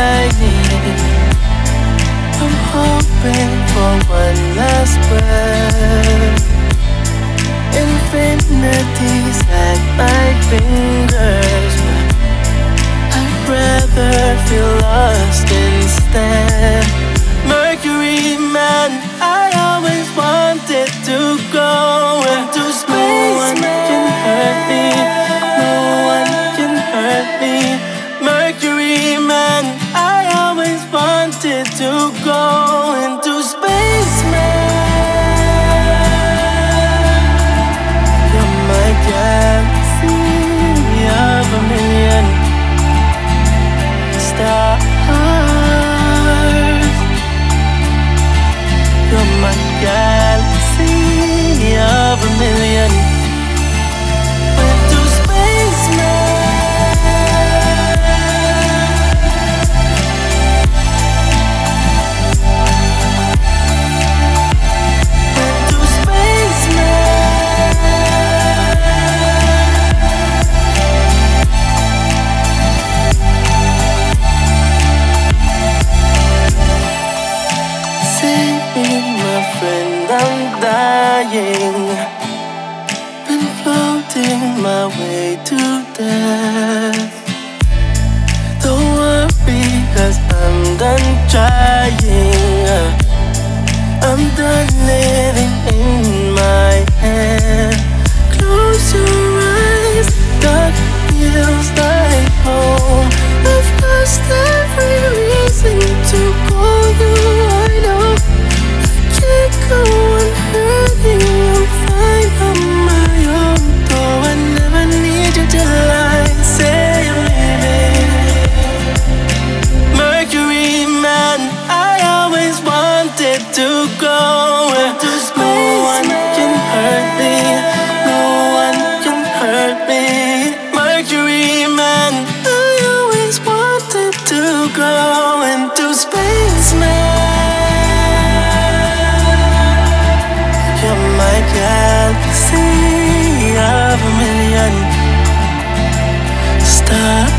shining. I'm hoping for one last breath. Infinities at my fingers, but I'd rather feel lost instead. Mercury man, I always wanted to go into space. No one can hurt me, no one can hurt me. Mercury man, I always wanted to go into space, man. You're my galaxy of a million stars. You're my galaxy of a million. Went to space, man. Went to space, man. Save me, my friend, I'm dying. Been floating my way to death. Don't worry, 'cause I'm done trying. I'm done living in my head. Close your eyes, dark feels like home. I've lost every reason to call you. I know I can't go on hurting. I'm fine on my own. Though I never need you till I say I'm leaving. Mercury man, I always wanted to go. No one can hurt me, no one can hurt me. Mercury man, I always wanted to go into space, man. You're my galaxy of a million stars.